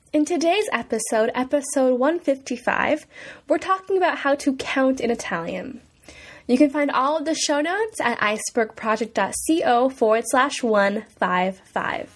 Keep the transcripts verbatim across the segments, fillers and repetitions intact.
In today's episode, episode one fifty-five, we're talking about how to count in Italian. You can find all of the show notes at icebergproject.co forward slash 155.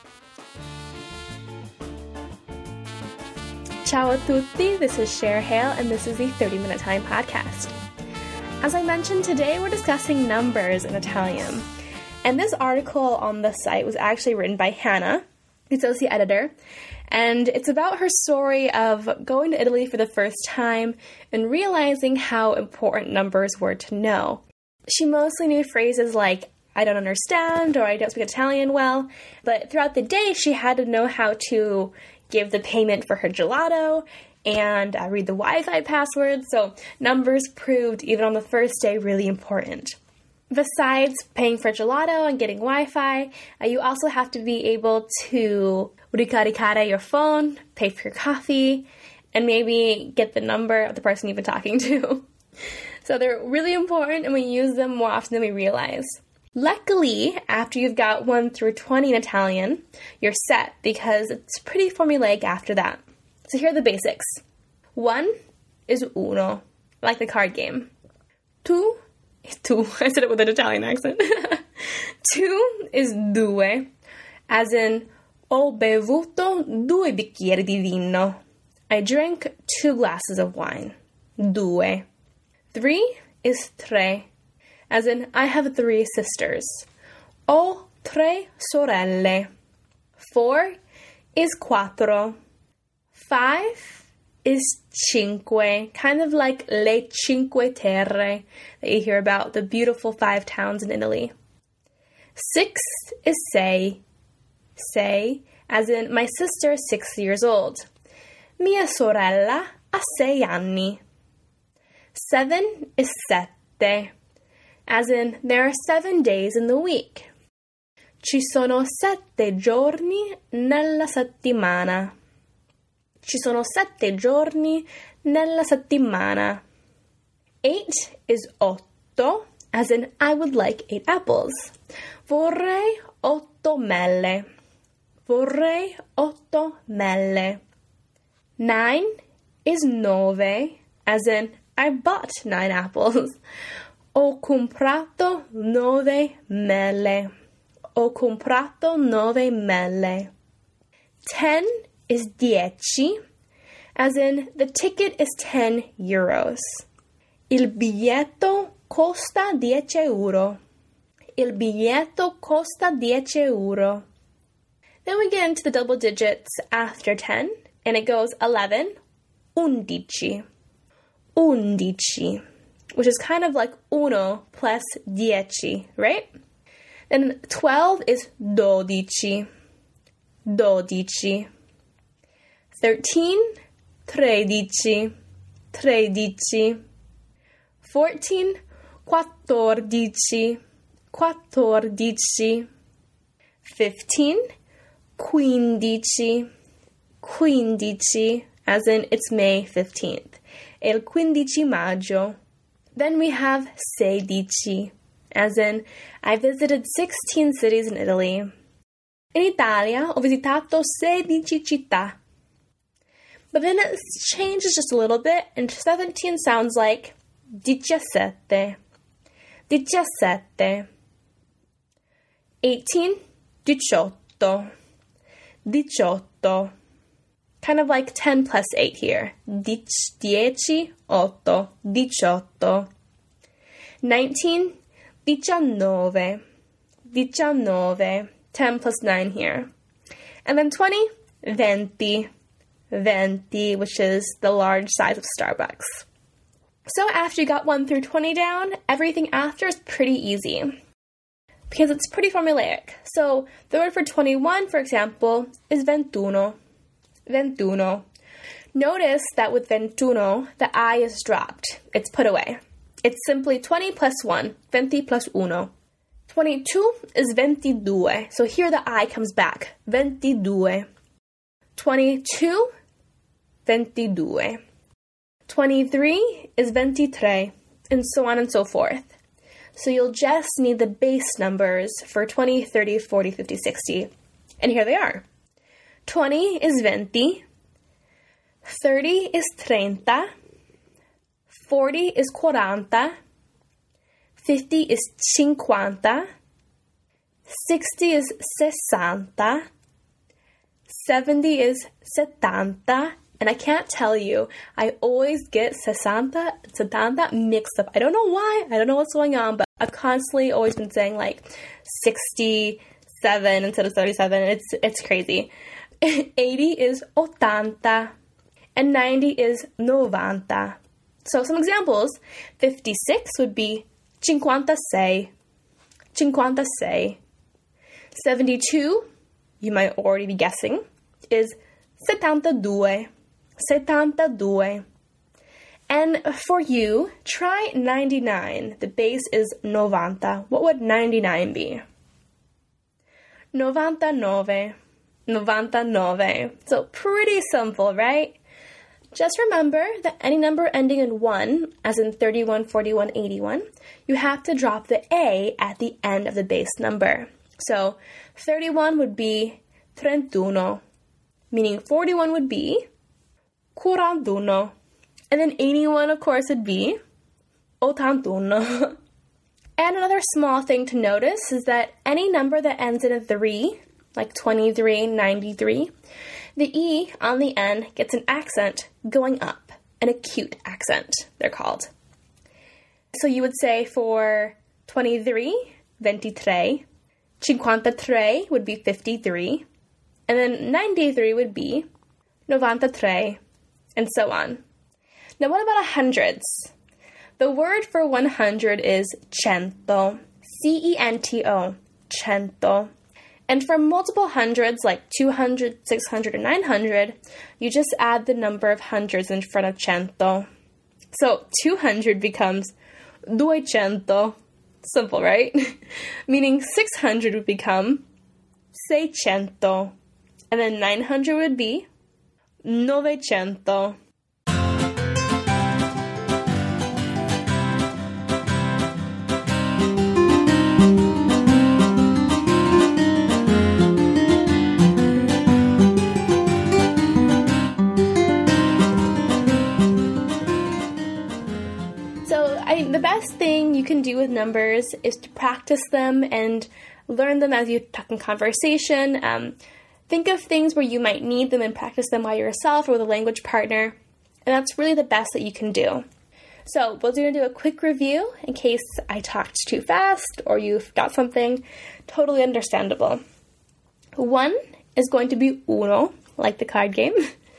Ciao a tutti, this is Cher Hale, and this is the thirty minute Italian podcast. As I mentioned, today we're discussing numbers in Italian. And this article on the site was actually written by Hannah, the associate editor, and it's about her story of going to Italy for the first time and realizing how important numbers were to know. She mostly knew phrases like, I don't understand, or I don't speak Italian well, but throughout the day she had to know how to give the payment for her gelato and uh, read the Wi-Fi password, so numbers proved, even on the first day, really important. Besides paying for gelato and getting Wi-Fi, uh, you also have to be able to ricaricare your phone, pay for your coffee, and maybe get the number of the person you've been talking to. So they're really important, and we use them more often than we realize. Luckily, after you've got one through twenty in Italian, you're set because it's pretty formulaic after that. So here are the basics. One is uno, like the card game. Two is two. I said it with an Italian accent. Two is due, as in, ho bevuto due bicchieri di vino. I drank two glasses of wine. Due. Three is tre, as in, I have three sisters. Ho tre sorelle. Four is quattro. Five is cinque, kind of like le cinque terre that you hear about, the beautiful five towns in Italy. Six is sei. Sei, as in, my sister is six years old. Mia sorella ha sei anni. Seven is sette, as in, there are seven days in the week. Ci sono sette giorni nella settimana. Ci sono sette giorni nella settimana. Eight is otto, as in, I would like eight apples. Vorrei otto mele. Vorrei otto mele. Nine is nove, as in, I bought nine apples. Ho comprato nove mele. Ho comprato nove mele. Ten is dieci, as in, the ticket is ten euros. Il biglietto costa dieci euro. Il biglietto costa dieci euro. Then we get into the double digits after ten, and it goes eleven, undici. Undici, which is kind of like uno plus dieci, right? Then twelve is dodici. Dodici. Thirteen, tredici. Tredici. Fourteen, quattordici. Quattordici. Fifteen, quindici. Quindici, as in it's May fifteenth. Il quindici maggio. Then we have sedici, as in I visited sixteen cities in Italy. In Italia, ho visitato sedici città. But then it changes just a little bit, and seventeen sounds like diciassette. Diciassette. eighteen, diciotto. Diciotto. Kind of like ten plus eight here. Dic, dieci, otto. Diciotto. nineteen, diciannove. Diciannove. ten plus nine here. And then twenty, venti. Venti, which is the large size of Starbucks. So after you got one through twenty down, everything after is pretty easy, because it's pretty formulaic. So the word for twenty-one, for example, is ventuno. Ventuno. Notice that with ventuno, the I is dropped. It's put away. It's simply twenty plus one, venti plus uno. twenty-two is ventidue. So here the I comes back. Ventidue. twenty-two, ventidue. twenty-three is ventitré, and so on and so forth. So you'll just need the base numbers for twenty, thirty, forty, fifty, sixty. And here they are. twenty is venti, thirty is treinta. forty is quaranta. fifty is cinquanta. sixty is sessanta. seventy is settanta. And I can't tell you, I always get sessanta, settanta mixed up. I don't know why. I don't know what's going on, but I've constantly always been saying like sixty-seven instead of thirty-seven. It's it's crazy. eighty is ottanta. And ninety is novanta. So some examples. fifty-six would be cinquantasei. cinquantasei. seventy-two, you might already be guessing, is settantadue. settantadue. And for you, try ninety-nine. The base is novanta. What would ninety-nine be? novantanove. novantanove. So pretty simple, right? Just remember that any number ending in one, as in thirty-one, forty-one, eighty-one, you have to drop the A at the end of the base number. So thirty-one would be trentuno, meaning forty-one would be quarantuno. And then eighty-one, of course, would be ottantuno. And another small thing to notice is that any number that ends in a three, like twenty-three, ninety-three, the E on the end gets an accent going up, an acute accent, they're called. So you would say for twenty-three, ventitré, cinquantatré would be fifty-three, and then ninety-three would be novantatré, and so on. Now what about hundreds? The word for one hundred is cento, C E N T O, cento. And for multiple hundreds, like two hundred, six hundred, and nine hundred, you just add the number of hundreds in front of cento. So two hundred becomes duecento. Simple, right? Meaning six hundred would become seicento. And then nine hundred would be novecento. The best thing you can do with numbers is to practice them and learn them as you talk in conversation. Um, think of things where you might need them and practice them by yourself or with a language partner. And that's really the best that you can do. So we're going to do a quick review in case I talked too fast or you forgot something. Totally understandable. One is going to be uno, like the card game.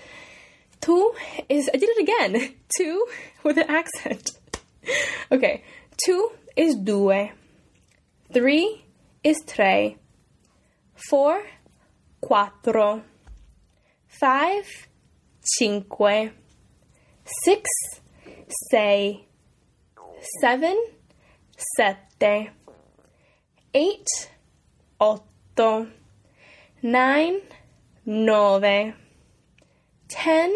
Two is, I did it again, two with an accent. Okay, two is due, three is tre, four, quattro, five, cinque, six, sei, seven, sette, eight, otto, nine, nove, ten,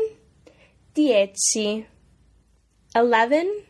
dieci, eleven,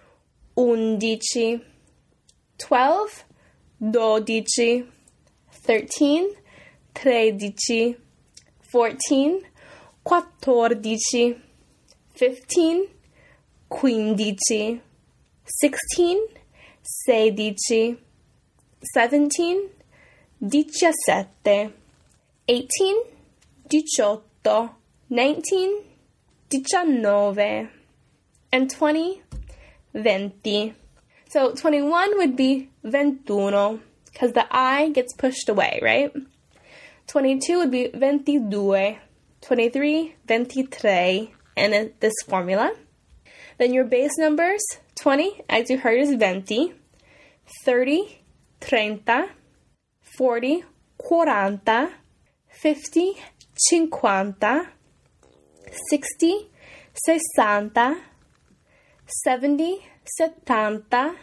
undici, twelve, dodici, thirteen, tredici, fourteen, quattordici, fifteen, quindici, sixteen, sedici, seventeen, diciassette, eighteen, diciotto, nineteen, diciannove, and twenty, venti. So twenty-one would be ventuno, because the I gets pushed away, right? twenty-two would be ventidue, twenty-three, ventitré, and in this formula. Then your base numbers, twenty, as you heard, is venti, thirty, treinta, forty, quaranta, fifty, cinquanta, sixty, sessanta, seventy, settanta,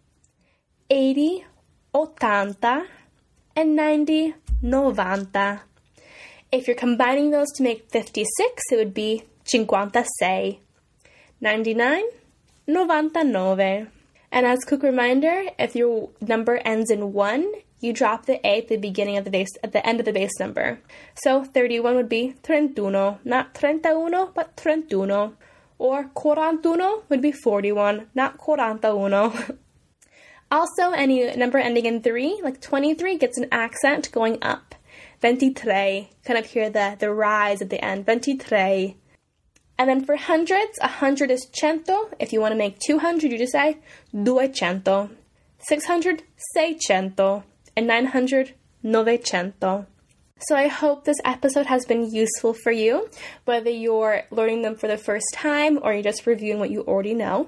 eighty, ottanta, and ninety, novanta. If you're combining those to make fifty-six, it would be cinquantasei, ninety-nine, novantanove. And as a quick reminder, if your number ends in one, you drop the A at the beginning of the base, at the end of the base number. So thirty-one would be trentuno, not trentauno, but trentuno. Or quarantuno would be forty-one, not quarantauno. Also, any number ending in three, like twenty-three, gets an accent going up. ventitré, kind of hear the, the rise at the end, ventitré. And then for hundreds, a hundred is cento. If you want to make two hundred, you just say duecento. six hundred, seicento. And nine hundred, novecento. So I hope this episode has been useful for you, whether you're learning them for the first time or you're just reviewing what you already know.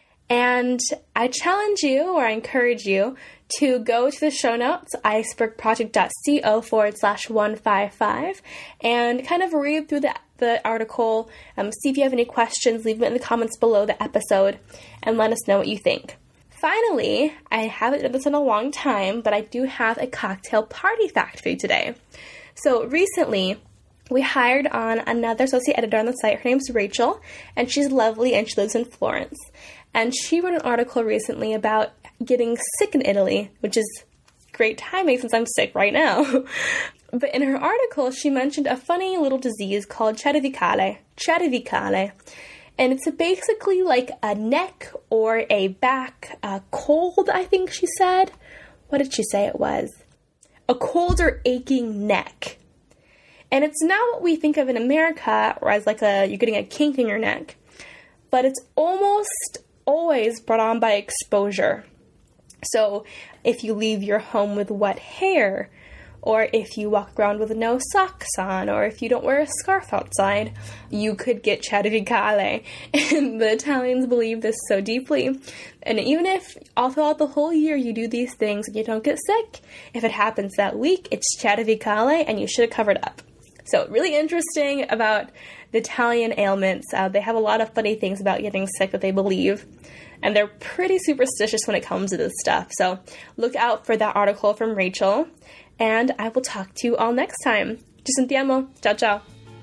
And I challenge you, or I encourage you, to go to the show notes, icebergproject.co forward slash 155, and kind of read through the, the article, um, see if you have any questions, leave them in the comments below the episode, and let us know what you think. Finally, I haven't done this in a long time, but I do have a cocktail party fact for you today. So recently, we hired on another associate editor on the site. Her name's Rachel, and she's lovely, and she lives in Florence. And she wrote an article recently about getting sick in Italy, which is great timing since I'm sick right now. But in her article, she mentioned a funny little disease called cervicale. Cervicale. And it's basically like a neck or a back uh, cold, I think she said. What did she say it was? A cold or aching neck. And it's not what we think of in America, or as like a, you're getting a kink in your neck. But it's almost always brought on by exposure. So if you leave your home with wet hair, or if you walk around with no socks on, or if you don't wear a scarf outside, you could get cervicale. And the Italians believe this so deeply. And even if all throughout the whole year you do these things and you don't get sick, if it happens that week, it's cervicale and you should have covered up. So really interesting about the Italian ailments. Uh, they have a lot of funny things about getting sick that they believe. And they're pretty superstitious when it comes to this stuff. So look out for that article from Rachel. And I will talk to you all next time. Ci sentiamo. Ciao, ciao.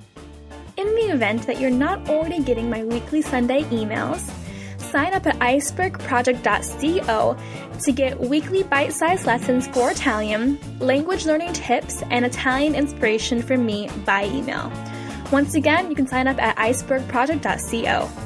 In the event that you're not already getting my weekly Sunday emails, sign up at icebergproject.co to get weekly bite-sized lessons for Italian, language learning tips, and Italian inspiration from me by email. Once again, you can sign up at icebergproject.co.